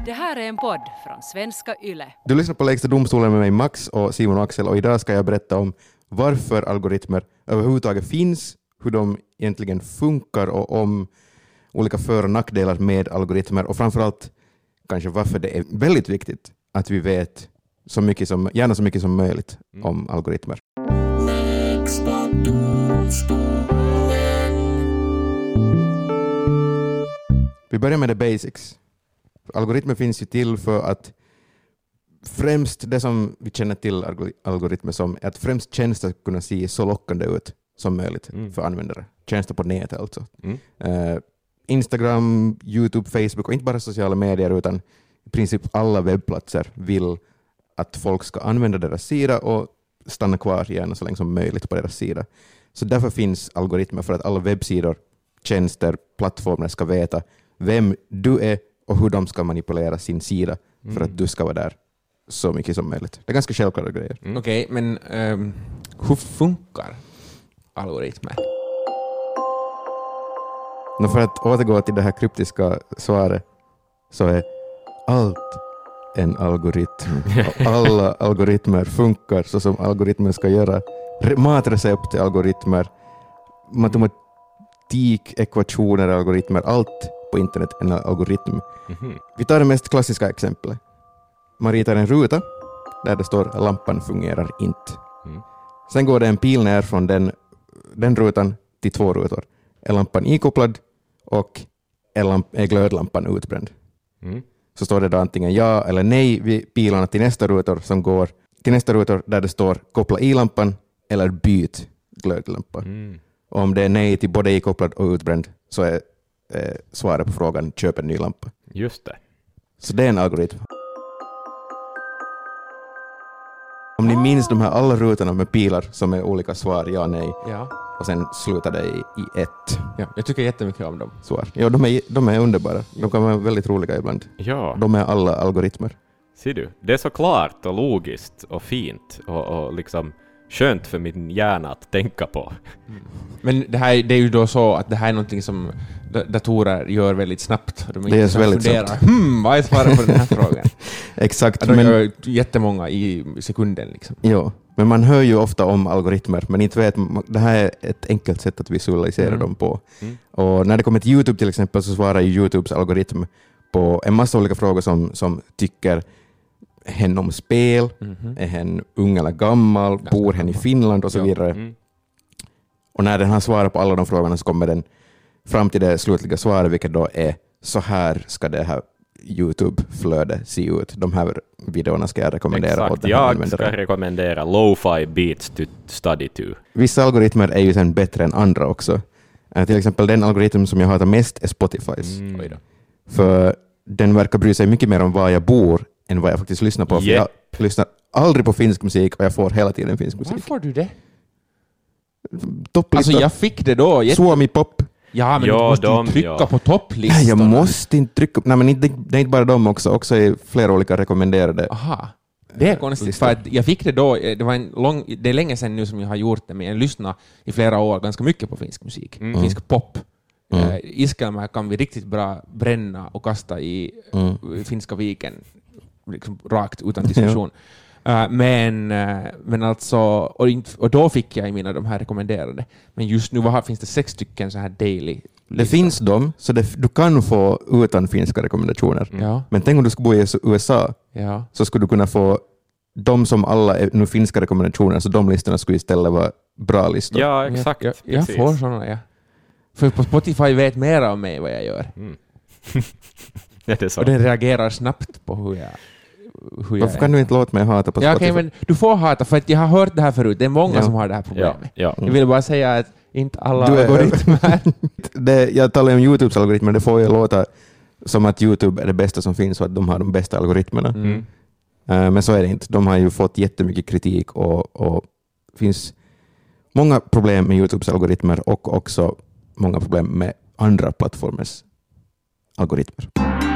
Det här är en podd från Svenska Yle. Du lyssnar på Lägsta domstolen med mig Max och Simon och Axel, och idag ska jag berätta om varför algoritmer överhuvudtaget finns, hur de egentligen funkar och om olika för- och nackdelar med algoritmer, och framförallt kanske varför det är väldigt viktigt att vi vet så mycket som, gärna så mycket som möjligt om algoritmer. Vi börjar med the basics. Algoritmer finns ju till för att främst det som vi känner till algoritmer som är att främst tjänster kunna se så lockande ut som möjligt för användare. Tjänster på nätet alltså. Instagram, YouTube, Facebook och inte bara sociala medier utan i princip alla webbplatser vill att folk ska använda deras sida och stanna kvar gärna så länge som möjligt på deras sida. Så därför finns algoritmer för att alla webbsidor, tjänster, plattformar ska veta vem du är och hur de ska manipulera sin sida för att du ska vara där så mycket som möjligt. Det är ganska självklara grejer. Okej, men hur funkar algoritmer? För att återgå till det här kryptiska svaret så är allt en algoritm. Alla algoritmer funkar så som algoritmer ska göra. Matrecept är algoritmer, matematik, ekvationer, algoritmer, allt på internet är en algoritm. Vi tar det mest klassiska exemplet. Man ritar en ruta där det står lampan fungerar inte. Sen går det en pil ner från den rutan till två rutor. Är lampan ikopplad och är glödlampan utbränd. Så står det då antingen ja eller nej vid pilarna till nästa rutor som går till nästa rutor där det står koppla i lampan eller byt glödlampa. Och om det är nej till både ikopplad och utbränd så är svaret på frågan köp en ny lampa. Just det. Så det är en algoritm. Om ni minns de här alla rutorna med pilar som är olika svar, ja, nej. Ja. Och sen slutar det i ett Ja, jag tycker jättemycket om dem. svar. Ja, de är underbara. De kan vara väldigt roliga ibland. Ja, De är alla algoritmer. ser du. Det är så klart och logiskt och fint och liksom skönt för min hjärna att tänka på. Men det är ju då så att det här är någonting som datorer gör väldigt snabbt. Det är väldigt snabbt. Vad är svaret på den här frågan? Exakt. De gör jättemånga i sekunden liksom. Ja, men man hör ju ofta om algoritmer, men inte vet, det här är ett enkelt sätt att visualisera dem på. Och när det kommer till YouTube till exempel så svarar ju YouTubes algoritm på en massa olika frågor som tycker hen om spel, är hen ung eller gammal, bor hen i Finland och så vidare. Och när den har svarat på alla de frågorna så kommer den fram till det slutliga svaret, vilket då är så här ska det här YouTube-flöde se ut. De här videorna ska jag rekommendera. Exakt, åt den här jag användaren. ska rekommendera lo-fi beats to study to. Vissa algoritmer är ju sen bättre än andra också. Till exempel den algoritm som jag hatar mest är Spotifys. För den verkar bry sig mycket mer om var jag bor än vad jag faktiskt lyssnar på. För jag lyssnar aldrig på finsk musik och jag får hela tiden finsk musik. Varför får du det? Topplista. Alltså jag fick det då. Suomi pop. Ja, men Ja, du måste ju de, trycka ja. på topplistan. Jag måste inte trycka. Nej, men det är inte bara dem också är flera olika rekommenderade. Aha. Det är konstigt, för att jag fick det då, det är länge sedan nu som jag har gjort det, men jag lyssnar i flera år ganska mycket på finsk musik, finsk pop. Iskelmä kan vi riktigt bra bränna och kasta i Finska viken, liksom rakt utan diskussion. Men alltså, och då fick jag i mina de här rekommenderade. Men just nu finns det 6 stycken så här daily. Det finns dem, så du kan få utan finska rekommendationer. Ja. Men tänk om du skulle bo i USA, Ja. så skulle du kunna få de som alla är nu finska rekommendationer, så de listorna skulle istället vara bra listor. Ja, exakt. Jag får sådana, ja. För på Spotify vet mer om mig vad jag gör. Ja, det är så. Och den reagerar snabbt på hur jag Varför kan du inte låta mig hata på Spotify? Ja, men du får hata, för att jag har hört det här förut. Det är många som har det här problemet. Ja. Jag vill bara säga att inte alla Du är- algoritmer... Jag talar om YouTubes algoritmer, det får ju låta som att YouTube är det bästa som finns och att de har de bästa algoritmerna. Men så är det inte. De har ju fått jättemycket kritik och finns många problem med YouTubes algoritmer och också många problem med andra plattformers algoritmer.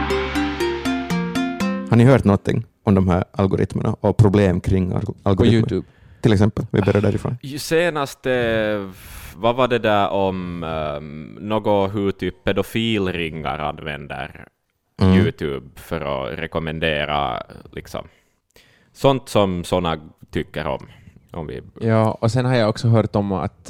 Har ni hört någonting om de här algoritmerna och problem kring algoritmer? På YouTube. Till exempel, vi börjar därifrån. Senast, vad var det där om något hur typ pedofilringar använder YouTube för att rekommendera liksom sånt som såna tycker om vi... Ja, och sen har jag också hört om att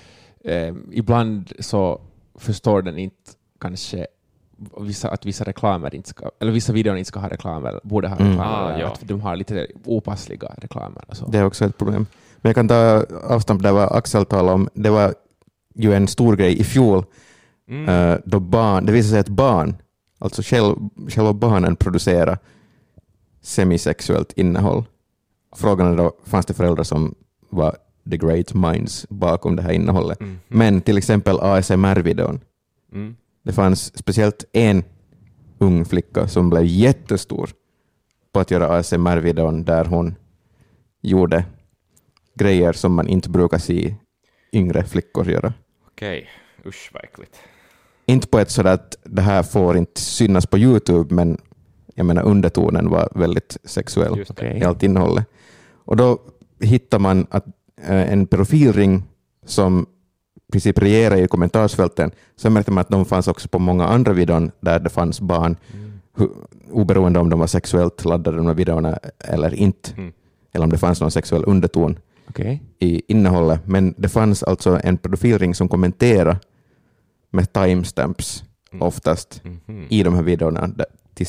ibland så förstår den inte kanske att vissa reklamer inte ska, eller vissa videor inte ska ha reklam eller borde ha reklam, att de har lite opassliga reklamer och så. Det är också ett problem. Men jag kan ta avstamp där vad Axel talade om. Det var ju en stor grej i fjol då det visade sig att barn, alltså själva barnen producerar semisexuellt innehåll. Frågan är då, fanns det föräldrar som var the great minds bakom det här innehållet? Men till exempel ASMR-videon. Det fanns speciellt en ung flicka som blev jättestor på att göra ASMR-videon där hon gjorde grejer som man inte brukar se yngre flickor göra. Okej, usch vad äckligt. Inte på ett sådär att det här får inte synas på YouTube, men jag menar undertonen var väldigt sexuell i allt innehållet. Och då hittar man att en pedofilring som i princip regerar i kommentarsfälten, så märkte man att de fanns också på många andra videon där det fanns barn, oberoende om de var sexuellt laddade de här videorna eller inte, eller om det fanns någon sexuell underton i innehållet. Men det fanns alltså en pedofilring som kommenterade med timestamps oftast i de här videorna till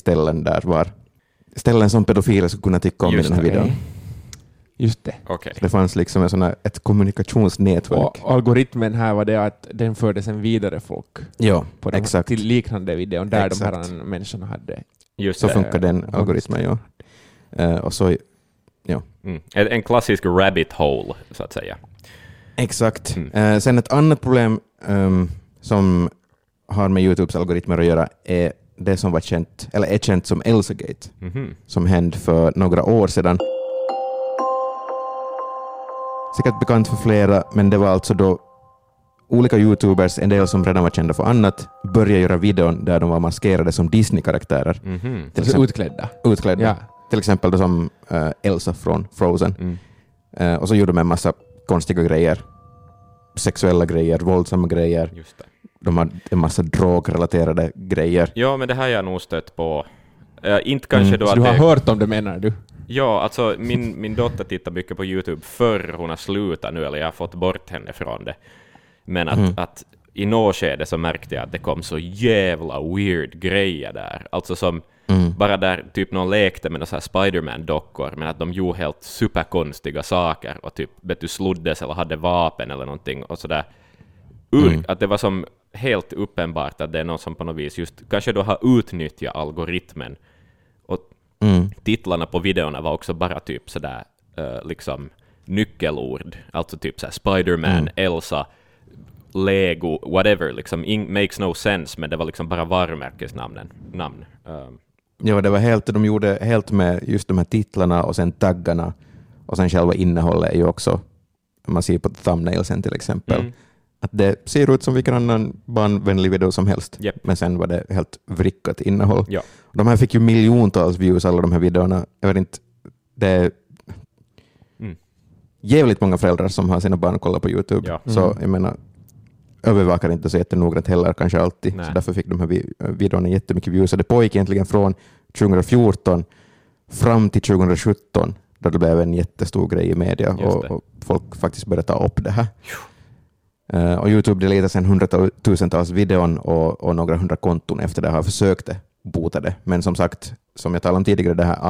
ställen som pedofiler skulle kunna tycka om i den här videon. Just det. Okay. Det fanns liksom ett kommunikationsnätverk. Och algoritmen här var det att den förde sen vidare folk på exakt. Till liknande videon där de här människorna hade. Just så funkar den algoritmen, och så, En klassisk rabbit hole, så att säga. Exakt. Sen ett annat problem som har med YouTubes algoritmer att göra är det som var känt som Elsagate, som hände för några år sedan. Säkert bekant för flera, men det var alltså då olika YouTubers, en del som redan var kända för annat, började göra videon där de var maskerade som Disney-karaktärer. Till exempel, utklädda. Ja. Till exempel då som Elsa från Frozen. Och så gjorde de en massa konstiga grejer. Sexuella grejer, våldsamma grejer. Just det. De hade en massa drogrelaterade grejer. Ja, men det här har jag nog stött på. Inte kanske då så att du har hört om det, menar du? Ja, alltså min dotter tittar mycket på YouTube förr hon har slutat nu, eller jag har fått bort henne från det. Men att i något skede så märkte jag att det kom så jävla weird grejer där. Alltså som bara där typ någon lekte med så här Spider-Man-dockor, men att de gjorde helt superkonstiga saker och typ sloddes eller hade vapen eller någonting och sådär. Att det var som helt uppenbart att det är någon som på något vis just kanske då har utnyttjat algoritmen. Och titlarna på videorna var också bara typ sådär liksom nyckelord. Alltså typ såhär Spider-Man, Elsa, Lego, whatever. Liksom makes no sense, men det var liksom bara varumärkesnamn. Ja, det var helt, de gjorde helt med just de här titlarna och sen taggarna och sen själva innehållet är ju också, man ser på thumbnailsen till exempel, att det ser ut som vilken annan barnvänlig video som helst. Yep. Men sen var det helt vrickat innehåll. Ja. De här fick ju miljontals views, alla de här videorna. Jag vet inte, det är jävligt många föräldrar som har sina barn kolla på YouTube. Ja. Så jag menar, övervakar inte så jättenoggrant heller kanske alltid. Nej. Så därför fick de här videorna jättemycket views. Så det pågick egentligen från 2014 fram till 2017 då det blev en jättestor grej i media och folk faktiskt började ta upp det här. Och YouTube deletar sen hundratusentals videon och några hundra konton efter det har försökt bota det. Men som sagt, som jag talade om tidigare, det här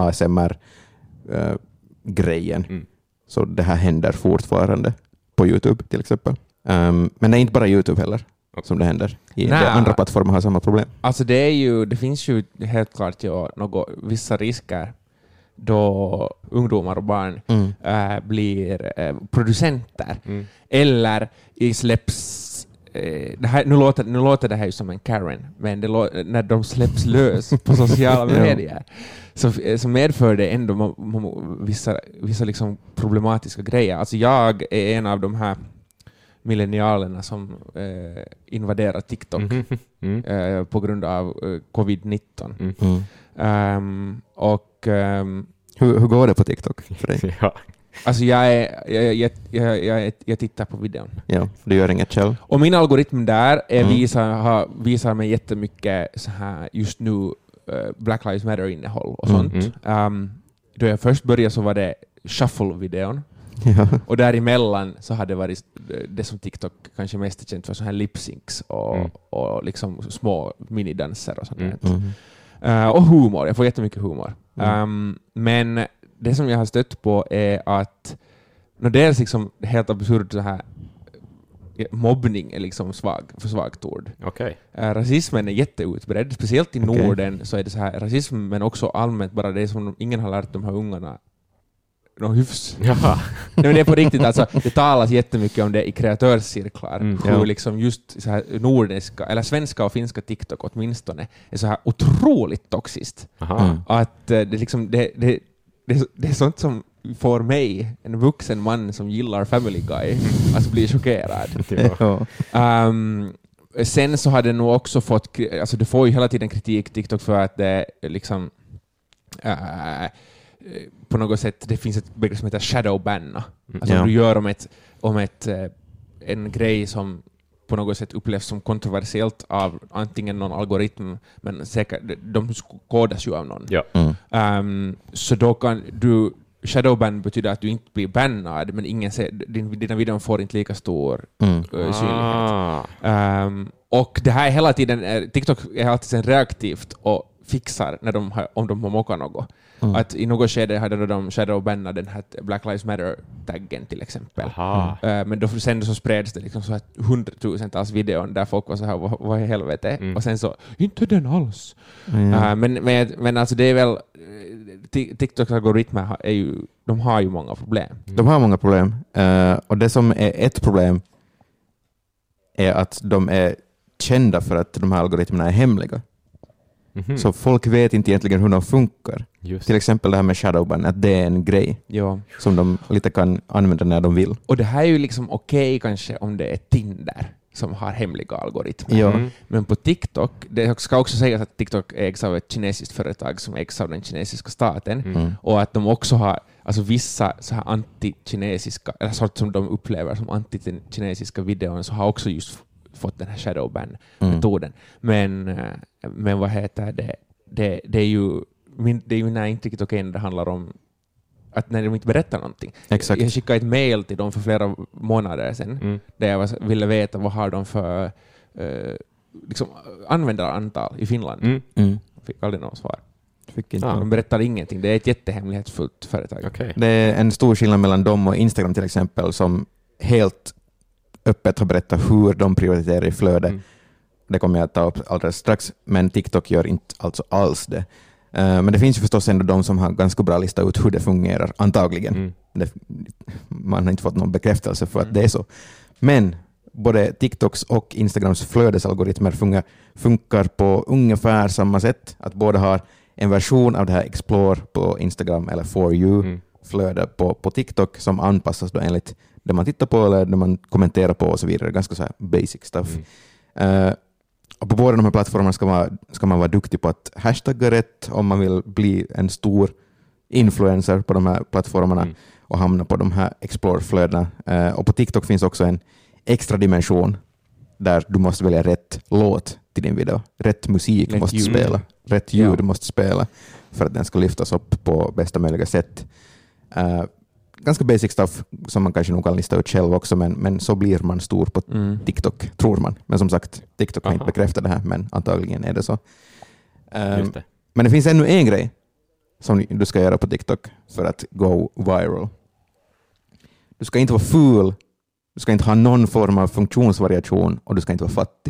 ASMR-grejen. Så det här händer fortfarande på YouTube till exempel. Men det är inte bara YouTube heller som det händer. Andra plattformar har samma problem. Alltså det finns ju helt klart vissa risker då ungdomar och barn blir producenter eller släpps nu låter det här ju som en Karen, men när de släpps lös på sociala medier så medför det ändå vissa liksom problematiska grejer. Alltså jag är en av de här millennialerna som invaderar TikTok på grund av covid-19. Hur går det på TikTok för dig? Alltså jag tittar på videon. Ja, du gör inget själv. Och min algoritm där visar mig jättemycket så här just nu Black Lives Matter-innehåll och sånt. Då jag först började så var det shuffle-videon. Ja. Och däremellan så hade det varit det som TikTok kanske mest är känt för, så här lip-syncs och liksom små minidanser och sånt där. Och humor, jag får jättemycket humor. Men det som jag har stött på är att dels liksom helt absurt så här mobbning är liksom för svagt ord. Okay. Rasismen är jätteutbredd, speciellt i Norden så är det så här rasism, men också allmänt bara det som ingen har lärt de här ungarna någon hyfs. Jaha. Nej, men det är på riktigt, alltså, det talas jättemycket om det i kreatörscirklar. Hur liksom just så här nordiska, eller svenska och finska TikTok åtminstone är så här otroligt toxiskt. Att det liksom det är sånt som får mig, en vuxen man som gillar Family Guy, att bli chockerad. Sen så har det nog också fått, alltså det får ju hela tiden kritik TikTok för att det liksom på något sätt, det finns ett begrepp som heter shadowbanna. Alltså om du gör om en grej som på något sätt upplevs som kontroversiellt av antingen någon algoritm, men säkert, de kodas ju av någon. Så då kan du shadowban betyder att du inte blir bannad, men ingen ser, dina videor får inte lika stor synlighet. Och det här är hela tiden, TikTok är alltid sen reaktivt och fixar när om de har mockat något. Att i något skede hade de shadowbannat den här Black Lives Matter-taggen till exempel. Men då sen så spreds det liksom så här 100,000-tals videon där folk var så här, vad i helvete? Och sen så, inte den alls. Men alltså det är väl, TikToks algoritmer är ju, de har ju många problem. De har många problem. Och det som är ett problem är att de är kända för att de här algoritmerna är hemliga. Så folk vet inte egentligen hur de funkar. Till exempel det här med shadowban, att det är en grej som de lite kan använda när de vill. Och det här är ju liksom okej kanske om det är Tinder som har hemliga algoritmer. Men på TikTok, det ska också sägas att TikTok ägs av ett kinesiskt företag som ägs av den kinesiska staten och att de också har alltså vissa så här anti-kinesiska, eller sånt som de upplever som anti-kinesiska videon, så har också just fått den här shadowban-metoden. Men vad heter det? Det är ju när inte TikTok när det handlar om att när de inte berättar någonting. Exakt. Jag skickade ett mail till dem för flera månader sedan där jag ville veta vad har de för liksom, användarantal i Finland. Fick aldrig något svar. De berättar ingenting. Det är ett jättehemlighetsfullt företag. Okay. Det är en stor skillnad mellan dem och Instagram till exempel, som helt öppet har berättat hur de prioriterar i flöde. Det kommer jag att ta upp alldeles strax, men TikTok gör inte alltså alls det. Men det finns ju förstås ändå de som har ganska bra listat ut hur det fungerar, antagligen. Man har inte fått någon bekräftelse för att det är så. Men både TikToks och Instagrams flödesalgoritmer funkar på ungefär samma sätt. Att båda har en version av det här Explore på Instagram eller For You-flöde på TikTok som anpassas då enligt det man tittar på eller det man kommenterar på och så vidare. Ganska så här basic stuff. Och på båda de här plattformarna ska man vara duktig på att hashtagga rätt om man vill bli en stor influencer på de här plattformarna och hamna på de här Explore-flödena. Och på TikTok finns också en extra dimension där du måste välja rätt låt till din video. Rätt musik måste spela. Rätt ljud måste spela för att den ska lyftas upp på bästa möjliga sätt. Ganska basic stuff som man kanske nog kan lista ut själv också, men så blir man stor på TikTok, tror man. Men som sagt, TikTok har inte bekräftat det här, men antagligen är det så. Men det finns ännu en grej som du ska göra på TikTok för att go viral. Du ska inte vara ful, du ska inte ha någon form av funktionsvariation och du ska inte vara fattig.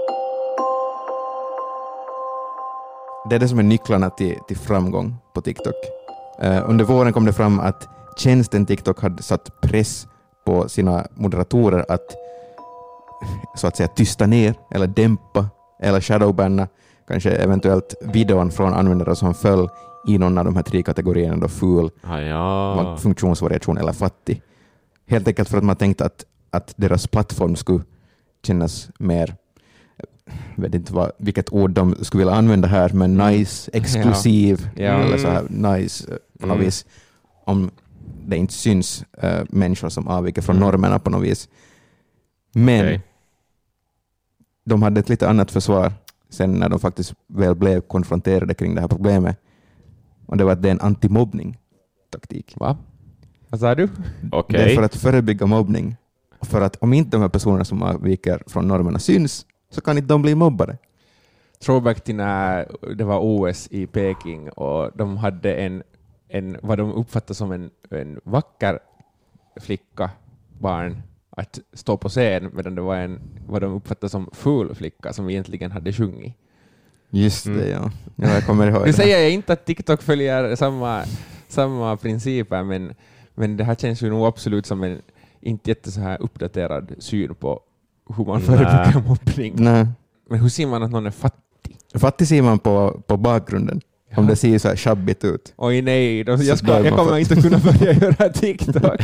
Det är det som är nycklarna till framgång på TikTok. Under våren kom det fram att tjänsten TikTok hade satt press på sina moderatorer att så att säga tysta ner eller dämpa eller shadowbanna kanske eventuellt videon från användare som föll i någon av de här 3 kategorierna då ful, funktionsvariation eller fattig. Helt enkelt för att man tänkte att deras plattform skulle kännas mer, jag vet inte vilket ord de skulle vilja använda här, men nice, exklusiv eller så här nice på något vis, om det inte syns människor som avviker från normerna på något vis. Men de hade ett lite annat försvar. sen när de faktiskt väl blev konfronterade kring det här problemet. Och det var att det är en antimobbning-taktik. Va? Vad sa du? Okej. Det är för att förebygga mobbning. Och för att om inte de här personerna som avviker från normerna syns så kan inte de bli mobbade. Throwback till när det var OS i Peking och de hade en vad de uppfattade som en vacker flicka, barn, att stå på scen, medan det var vad de uppfattade som ful flicka som egentligen hade sjungit. Just det, ja. Jag kommer ihåg Nu det. säger jag inte att TikTok följer samma principer, men det här känns ju nog absolut som en inte jätte så här uppdaterad syn på hur man förebygger mobbning. Nej. Men hur ser man att någon är fattig? Fattig ser man på bakgrunden. Ja. Om det ser så här shabbigt ut. Oj nej, jag där man kommer inte kunna börja göra TikTok.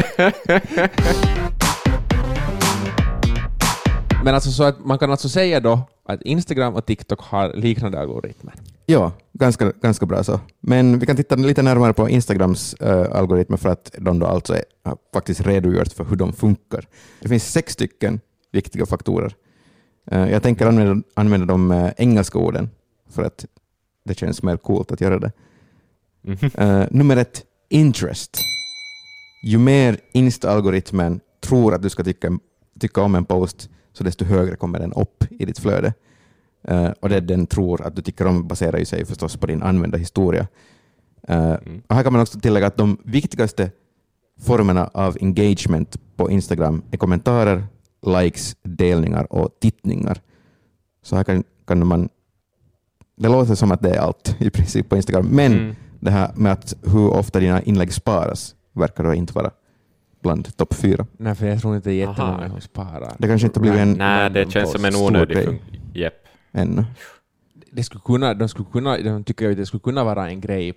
Men alltså så att man kan alltså säga då att Instagram och TikTok har liknande algoritmer. Ja, ganska bra så. Men vi kan titta lite närmare på Instagrams algoritmer för att de då alltså har faktiskt redogjort för hur de funkar. Det finns 6 stycken viktiga faktorer. Jag tänker använda de engelska orden för att det känns mer coolt att göra det. Nummer 1, interest. Ju mer Insta-algoritmen tror att du ska tycka om en post, så desto högre kommer den upp i ditt flöde. Och det den tror att du tycker om baserar ju sig förstås på din användarhistoria. Och här kan man också tillägga att de viktigaste formerna av engagement på Instagram är kommentarer, likes, delningar och tittningar. Så här kan man... Det låter som att det är allt i princip på Instagram. Men det här med att hur ofta dina inlägg sparas verkar då inte vara bland topp 4. Nej, för jag tror inte det är jättemånga som sparar. Det kanske inte blivit en... Nej, det känns som en onödig Japp. Ännu. De tycker att det skulle kunna vara en grej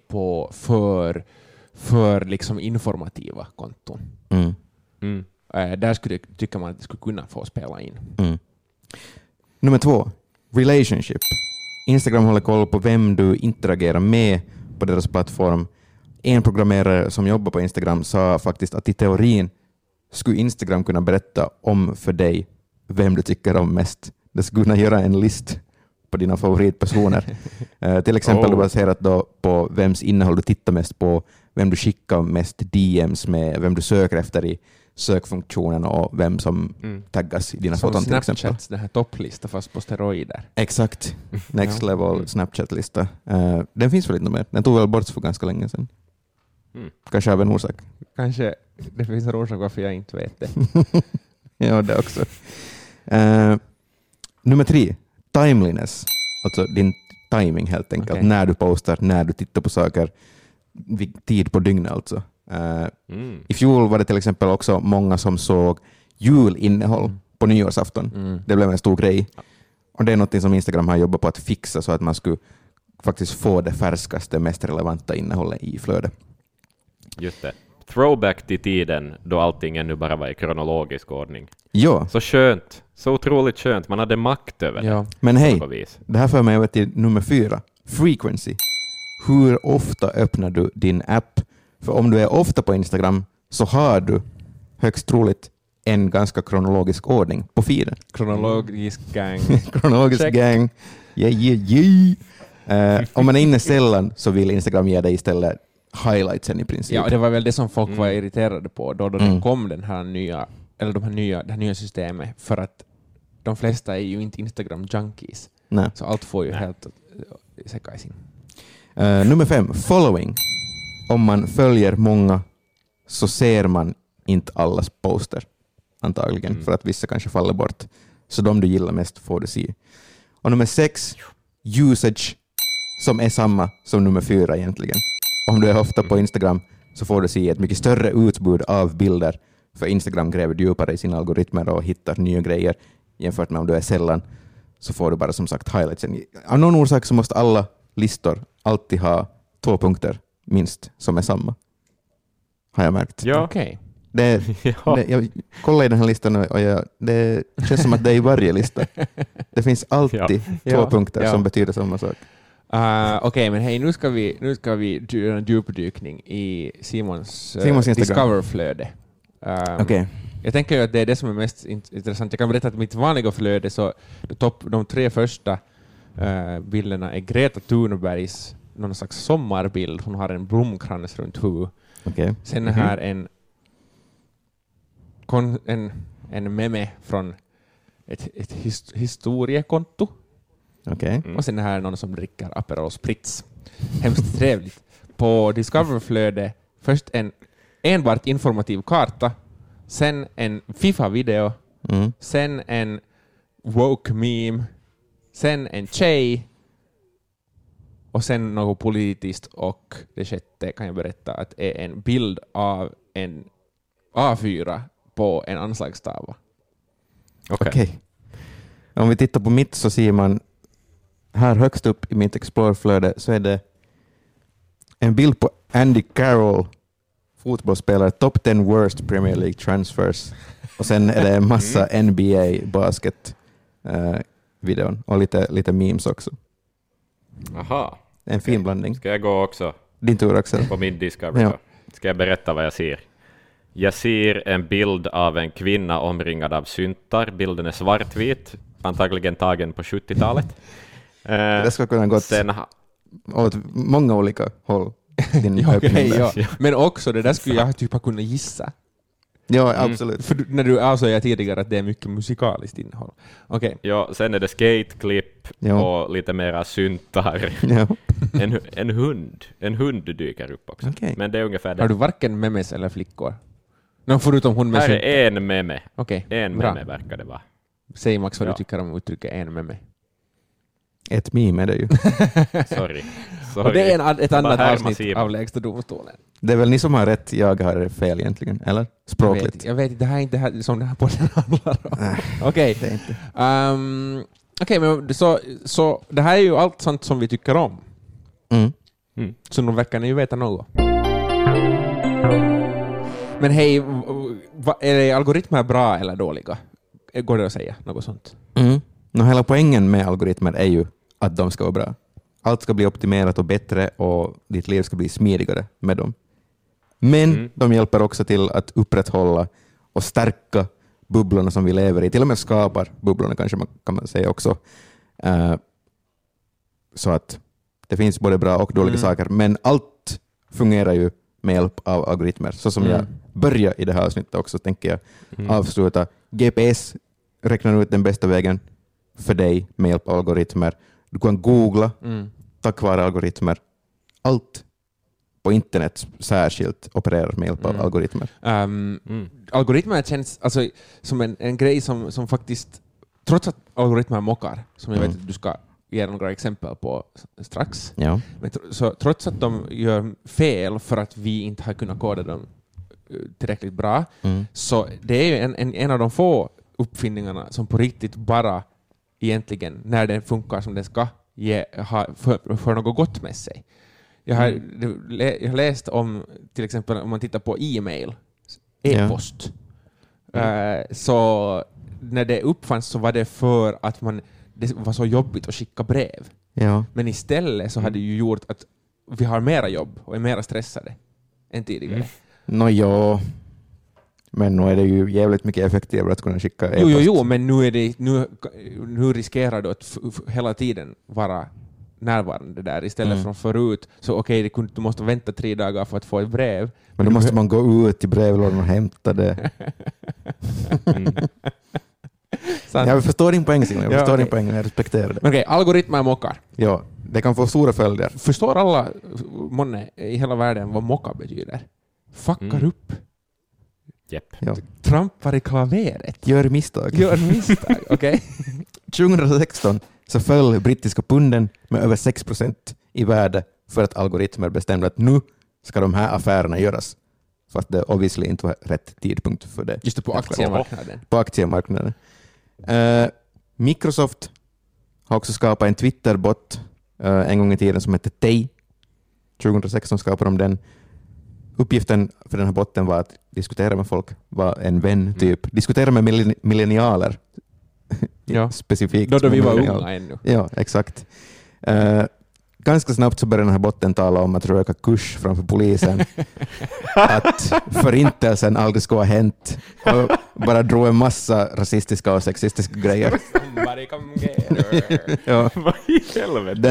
för liksom informativa konton. Där tycker man att det skulle kunna få spela in. Nummer 2, relationship. Instagram håller koll på vem du interagerar med på deras plattform. En programmerare som jobbar på Instagram sa faktiskt att i teorin skulle Instagram kunna berätta om för dig vem du tycker om mest. Det skulle kunna göra en list på dina favoritpersoner. Till exempel baserat då på vems innehåll du tittar mest på, vem du skickar mest DMs med, vem du söker efter i sökfunktionen och vem som taggas i dina foton till exempel. Snapchats, den här topplista fast på steroider. Exakt. Next level Snapchat-lista. Den finns väl inte mer. Den tog väl bort för ganska länge sedan. Kanske av en orsak. Kanske det finns en orsak varför jag inte vet det. Ja, det också. Nummer 3, timeliness. Alltså din timing helt enkelt. Okay. När du postar, när du tittar på saker. Tid på dygnet alltså. I fjol var det till exempel också många som såg julinnehåll på nyårsafton. Det blev en stor grej. Och det är något som Instagram har jobbat på att fixa så att man skulle faktiskt få det färskaste, mest relevanta innehållet i flödet. Just det. Throwback till tiden då allting ännu bara var i kronologisk ordning. Ja. Så skönt. Så otroligt skönt. Man hade makt över det. Men hej, det här för mig över till nummer 4. Frequency. Hur ofta öppnar du din app? För om du är ofta på Instagram så har du högst troligt en ganska kronologisk ordning på feeden. Kronologisk gang. Kronologisk Check. gang. Om man är inne sällan så vill Instagram ge dig istället highlightsen i princip. Ja, det var väl det som folk var irriterade på då det kom det här nya systemet, för att de flesta är ju inte Instagram junkies. Nej. Så allt får ju helt sekajsin. Nummer 5, following. Om man följer många så ser man inte allas poster antagligen, för att vissa kanske faller bort. Så de du gillar mest får du se. Och nummer 6, usage, som är samma som nummer 4 egentligen. Om du är ofta på Instagram så får du se ett mycket större utbud av bilder, för Instagram gräver djupare i sina algoritmer och hittar nya grejer, jämfört med om du är sällan så får du bara som sagt highlightsen. Av någon orsak så måste alla listor alltid ha 2 punkter minst som är samma. Har jag märkt. Ja. Okej. Jag kollar i den här listan och det känns som att det är i varje lista. Det finns alltid 2 punkter som betyder samma sak. Okej, men hej, nu ska vi göra en djupdykning i Simons Discover-flöde. Okej. Jag tänker ju att det är det som är mest intressant. Jag kan berätta att mitt vanliga flöde, så de 3 första Bilderna är Greta Thunbergs någon slags sommarbild. Hon har en blomkrans runt huvudet. Okay. Sen är här en meme från ett historiekonto. Okay. Och sen är här någon som dricker Aperol Spritz. Hemskt trevligt. På Discover-flöde först en enbart informativ karta, sen en FIFA-video, sen en woke-meme, sen en tjej och sen något politiskt, och det sjätte kan jag berätta att är en bild av en A4 på en anslagstavla. Okej. Om vi tittar på mitt så ser man här högst upp i mitt Explore-flöde så är det en bild på Andy Carroll, fotbollsspelare, top 10 worst Premier League transfers. Och sen är det en massa NBA basket videon och lite memes också. Aha. En fin blandning. Ska jag gå också? Din tur, Axel. På min Discovery. Ja. Ska jag berätta vad jag ser? Jag ser en bild av en kvinna omringad av syntar. Bilden är svartvit, antagligen tagen på 70-talet. Det ska kunna gått åt många olika håll. Ja. Men också det där skulle jag typ ha kunnat gissa. Ja, absolut. För när du avslöjade tidigare att det är mycket musikaliskt innehåll. Okay. Ja, sen är det skateklipp och lite mera syntar. Ja. En hund dyker upp också. Okay. Men det är ungefär det. Har du varken memes eller flickor? Förutom hon med här syntar. är en meme. Okay. En meme verkar det vara. Säg Max vad du tycker om uttrycket en meme. Ett meme är det ju. Sorry. Och det är ett annat avsnitt av Lägsta domstolen. Det är väl ni som har rätt, jag har fel egentligen, eller? Språkligt. Jag vet inte, det här är inte här, som det här podden handlar om. Okej. Okej, men så det här är ju allt sånt som vi tycker om. Så nu verkar ni ju veta något. Men hej, är algoritmer bra eller dåliga? Går det att säga något sånt? Hela poängen med algoritmer är ju att de ska vara bra. Allt ska bli optimerat och bättre och ditt liv ska bli smidigare med dem. Men de hjälper också till att upprätthålla och stärka bubblorna som vi lever i. Till och med skapar bubblorna kanske kan man säga också. Så att det finns både bra och dåliga saker. Men allt fungerar ju med hjälp av algoritmer. Så som jag börjar i det här avsnittet också tänker jag avsluta. GPS räknar ut den bästa vägen för dig med hjälp av algoritmer. Du kan googla tack vare algoritmer. Allt på internet särskilt opererar med hjälp av algoritmer. Algoritmer känns alltså som en grej som faktiskt, trots att algoritmer mockar, som jag vet att du ska ge några exempel på strax, men så trots att de gör fel för att vi inte har kunnat koda dem tillräckligt bra, så det är ju en av de få uppfinningarna som på riktigt bara egentligen, när den funkar som den ska, för något gott med sig. Jag har läst om, till exempel om man tittar på e-post. Så när det uppfanns så var det för att det var så jobbigt att skicka brev. Ja. Men istället så hade det ju gjort att vi har mera jobb och är mera stressade än tidigare. Men nu är det ju jävligt mycket effektivare att kunna skicka e-post. Jo, men nu riskerar du att hela tiden vara närvarande där istället från förut. Så du måste vänta 3 dagar för att få ett brev. Men då måste man gå ut till brevlådan och hämta det. Jag förstår din poäng, Simon. Jag respekterar det. Men algoritmer mockar. Ja, det kan få stora följder. Förstår alla i hela världen vad mocka betyder? Fuckar upp. Yep. Ja. Trampar i klaveret. Gör misstag. Okej. 2016 så föll brittiska punden med över 6% i värde för att algoritmer bestämde att nu ska de här affärerna göras. Fast det obviously inte var rätt tidpunkt för det. Just det, på aktiemarknaden. På aktiemarknaden. Microsoft har också skapat en Twitter-bot en gång i tiden som heter Tay. 2016 skapade de den. Uppgiften för den här botten var att diskutera med folk, vara en vän typ. Diskutera med millennialer. Ja. Specifikt. Då vi var unga ännu. Ja, exakt. ganska snabbt så började den här botten tala om att röka kurs framför polisen. Att förintelsen aldrig skulle ha hänt. Och bara drog en massa rasistiska och sexistiska grejer. Somebody come get her. Ja. Vad i helvete?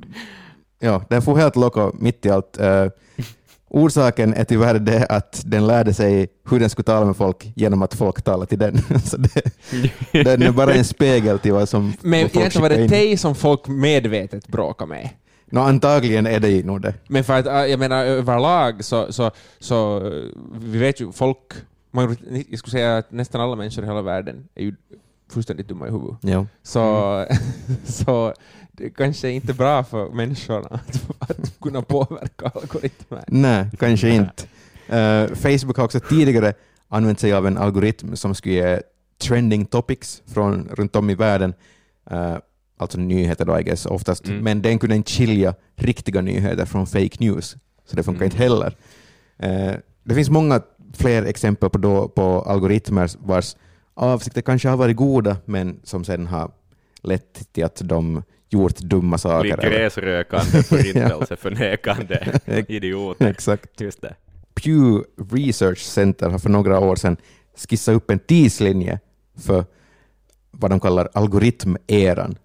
Den får helt loco mitt i allt. Orsaken är tyvärr det att den lärde sig hur den skulle tala med folk genom att folk talar till den. Så den är bara en spegel till vad som Men folk egentligen var det skickar in. dig som folk medvetet bråkar med. Antagligen är det nog det. Men för att jag menar överlag så vi vet ju folk, jag skulle säga att nästan alla människor i hela världen är ju fullständigt dumma i huvudet. Ja. Så det kanske är inte bra för människorna att kunna påverka algoritmer. Nej, kanske inte. Facebook har också tidigare använt sig av en algoritm som skulle ge trending topics från runt om i världen. Alltså nyheter då, I guess, oftast. Men den kunde inte skilja riktiga nyheter från fake news. Så det funkar inte heller. Det finns många fler exempel på algoritmer vars avsikter kanske har varit goda, men som sedan har lett till att de gjort dumma saker. Blir gräsrökande, förintelseförnekande idioter. Exakt. Just det. Pew Research Center har för några år sedan skissat upp en tidslinje för vad de kallar algoritmeran.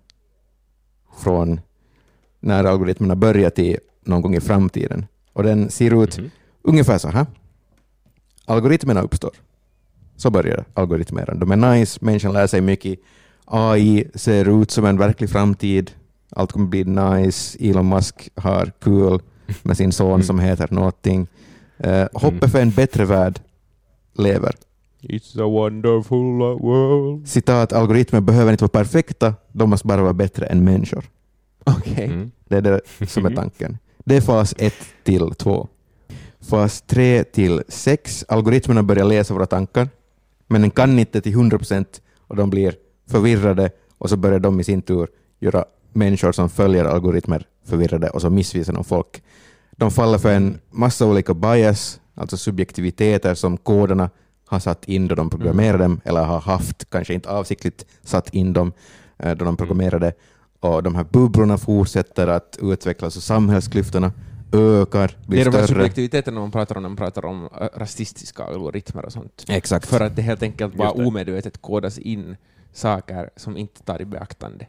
Från när algoritmerna börjar till någon gång i framtiden. Och den ser ut ungefär så här. Algoritmerna uppstår. Så börjar algoritmeran. De är nice, människan lär sig mycket. AI ser ut som en verklig framtid. Allt kommer bli nice. Elon Musk har kul med sin son som heter någonting. Hoppet för en bättre värld lever. It's a wonderful world. Citat, algoritmer behöver inte vara perfekta, de måste bara vara bättre än människor. Okej. Det är det som är tanken. Det är fas 1 till 2. Fas 3 till 6, algoritmerna börjar läsa våra tankar, men den kan inte till 100% och de blir förvirrade och så börjar de i sin tur göra människor som följer algoritmer förvirrade och så missvisar de folk. De faller för en massa olika bias, alltså subjektiviteter som koderna har satt in då de programmerar dem, eller har haft, kanske inte avsiktligt satt in dem då de programmerade. Och de här bubblorna fortsätter att utvecklas och samhällsklyftorna ökar, Det blir är de här större. subjektiviteterna när man pratar om rasistiska algoritmer och sånt. Exakt. För att det helt enkelt bara Just det. omedvetet kodas in saker som inte tar i beaktande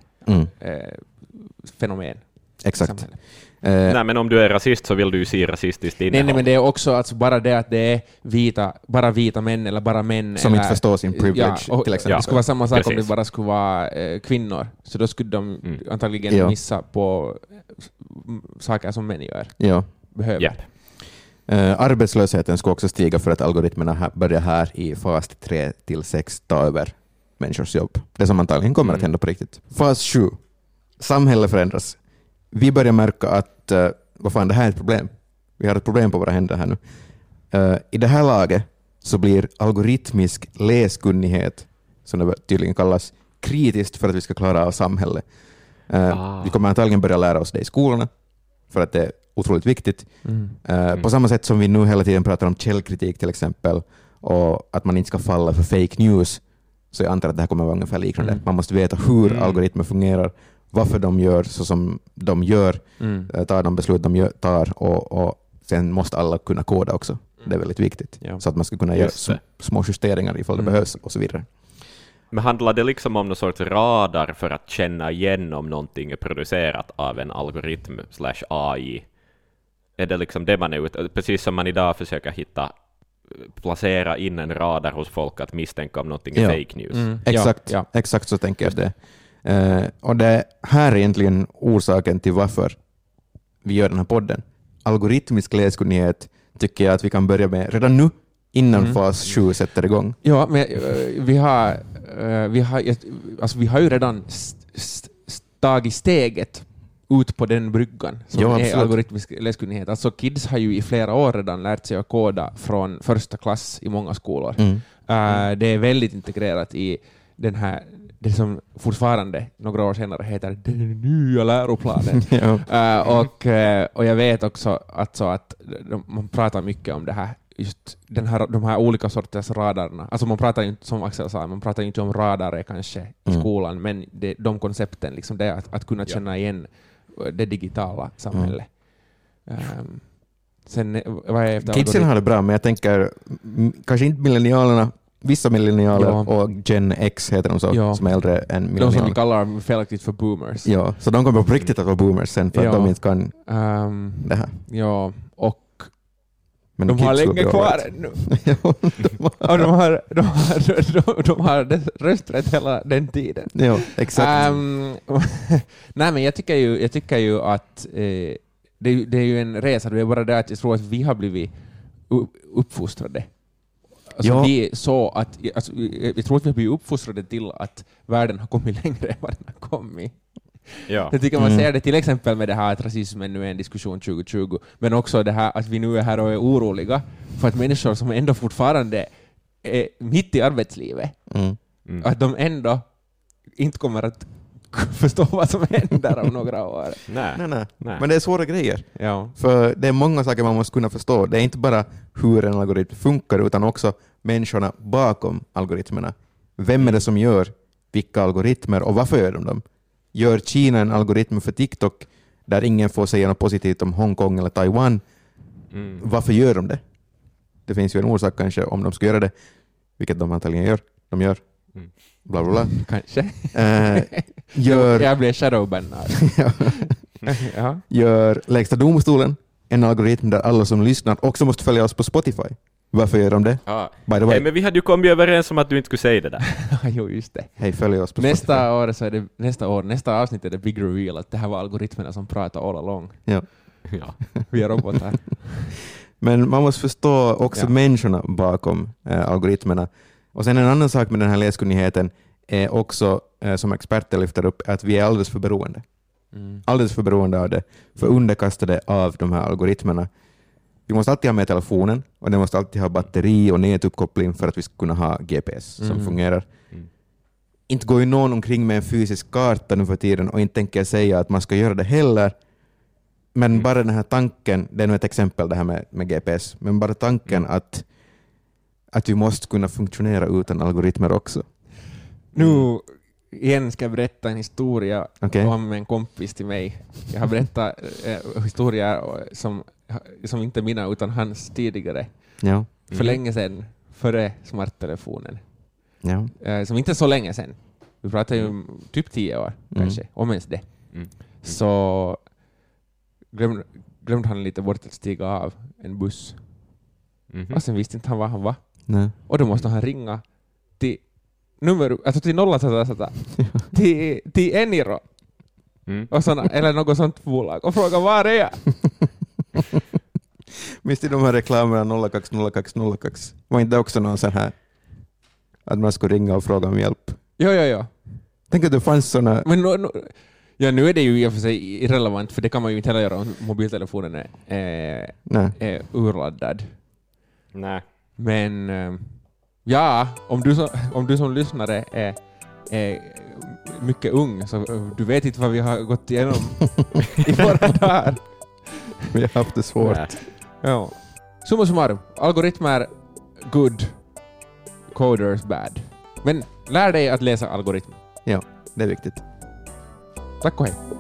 fenomen. Exakt. Samhället. Nej, men om du är rasist så vill du ju se rasistiskt innehåll. Nej, men det är också alltså bara det att det är bara vita män eller bara män. Som eller, inte förstår sin privilege, till exempel. Det skulle vara samma sak om Precis. det bara skulle vara kvinnor. Så då skulle de antagligen Ja. missa på saker som män gör. Ja. Behöver. Japp. Arbetslösheten ska också stiga för att algoritmerna börjar här i fas 3 till 6 ta över människors jobb. Det som antagligen kommer att hända på riktigt. Fas 7. Samhället förändras. Vi börjar märka att vad fan, det här är ett problem. Vi har ett problem på våra händer här nu. I det här laget så blir algoritmisk läskunnighet, som det tydligen kallas, kritiskt för att vi ska klara av samhället. Vi kommer antagligen börja lära oss det i skolorna för att det är otroligt viktigt. På samma sätt som vi nu hela tiden pratar om källkritik till exempel och att man inte ska falla för fake news, så jag antar att det här kommer att vara ungefär liknande. Man måste veta hur algoritmer fungerar, varför de gör så som de gör, tar de beslut de tar och sen måste alla kunna koda också. Det är väldigt viktigt. Ja. Så att man ska kunna Just göra det. små justeringar ifall det behövs och så vidare. Men handlar det liksom om någon sorts radar för att känna igen om någonting är producerat av en algoritm / AI? Är det liksom det man är ute, precis som man idag försöker placera in en radar hos folk att misstänka om någonting är fake news? Exakt, Ja. exakt så tänker jag det. Och det här är egentligen orsaken till varför vi gör den här podden. Algoritmisk läskunnighet tycker jag att vi kan börja med redan nu, innan fas 7 sätter igång. Ja, men vi har ju redan tagit steget ut på den bryggan som Ja, är absolut. algoritmisk läskunnighet. Alltså kids har ju i flera år redan lärt sig att koda från första klass i många skolor. Det är väldigt integrerat i den här, det som fortfarande några år senare heter den nya läroplanen. Och jag vet också att man pratar mycket om det här, just de här olika sorters radarna. Alltså man pratar inte, som Axel sa, man pratar inte om radare kanske i skolan, men de koncepten, liksom det att kunna känna igen det digitala samhället. Sen, vad är efter Kidsen har det bra, men jag tänker kanske inte millennialerna, vissa millennialer och Gen X heter de så, som är äldre än millennialer. De som vi kallar felaktigt för boomers. Ja, så de kommer på riktigt att vara boomers sen för att de inte kan det här. Ja, och men de har länge kvar nu. Och de har rösträtt hela den tiden. Ja, exakt. Nej, men jag tycker ju att det är ju en resa. Det är bara det att jag tror att vi har blivit uppfostrade. Alltså vi så att, alltså, jag tror att vi har blivit uppfostrade till att världen har kommit längre än vad den har kommit. Ja. Jag tycker man ser det till exempel med det här att rasismen nu är en diskussion 2020, men också det här att vi nu är här och är oroliga för att människor som ändå fortfarande är mitt i arbetslivet, att de ändå inte kommer att förstå vad som händer om några år. Nej. Men det är svåra grejer. Ja. För det är många saker man måste kunna förstå. Det är inte bara hur en algoritm funkar utan också människorna bakom algoritmerna. Vem är det som gör vilka algoritmer och varför gör de dem? Gör Kina en algoritm för TikTok där ingen får säga något positivt om Hongkong eller Taiwan? Varför gör de det? Det finns ju en orsak kanske om de ska göra det, vilket de antagligen gör. De gör. Bla bla bla. Kanske. Jag blir shadowbannad. Gör Lägsta domstolen en algoritm där alla som lyssnar också måste följa oss på Spotify. Varför gör de det? By the way. Hey, men vi hade ju kommit överens om att du inte skulle säga det där. Jo, just det. Hej, följ oss på Spotify. Nästa avsnitt är det big reveal att det här var algoritmerna som pratar all along. Ja. Vi är robotar. Men man måste förstå också människorna bakom algoritmerna. Och sen en annan sak med den här läskunnigheten är också, som experter lyfter upp, att vi är alldeles för beroende. Alldeles för beroende av det. För underkastade av de här algoritmerna. Vi måste alltid ha med telefonen och den måste alltid ha batteri och nätuppkoppling för att vi ska kunna ha GPS som fungerar. Inte går ju någon omkring med en fysisk karta nu för tiden och inte tänker säga att man ska göra det heller. Men bara den här tanken, det är nog ett exempel det här med GPS, men bara tanken att vi måste kunna funktionera utan algoritmer också. Nu igen ska jag berätta en historia om en kompis till mig. Jag har berättat historier som inte mina utan hans tidigare. Ja. För länge sedan, före smarttelefonen. Ja. Som inte är så länge sedan. Vi pratar ju typ 10 år kanske, om ens det. Så glömde han lite bort att stiga av en buss. Och sen visste inte han var han var. Nej. Och då måste han ringa till nummer, alltså till 0 till Eniro. Och såna, eller något sånt bolag och fråga var är jag? Minns du de här reklamerna 020202? Var inte också någon sån här att man ska ringa och fråga om hjälp? Ja. Tänk att det fanns såna... Men nu är det ju i och för sig irrelevant, för det kan man ju inte heller göra om mobiltelefonen är urladdad. Nej. Men om du som lyssnare är mycket ung, så du vet inte vad vi har gått igenom i våra dagar. Vi har haft det svårt. Ja. Summa summarum, algoritmer good, coders bad. Men lär dig att läsa algoritmer. Ja, det är viktigt. Tack och hej.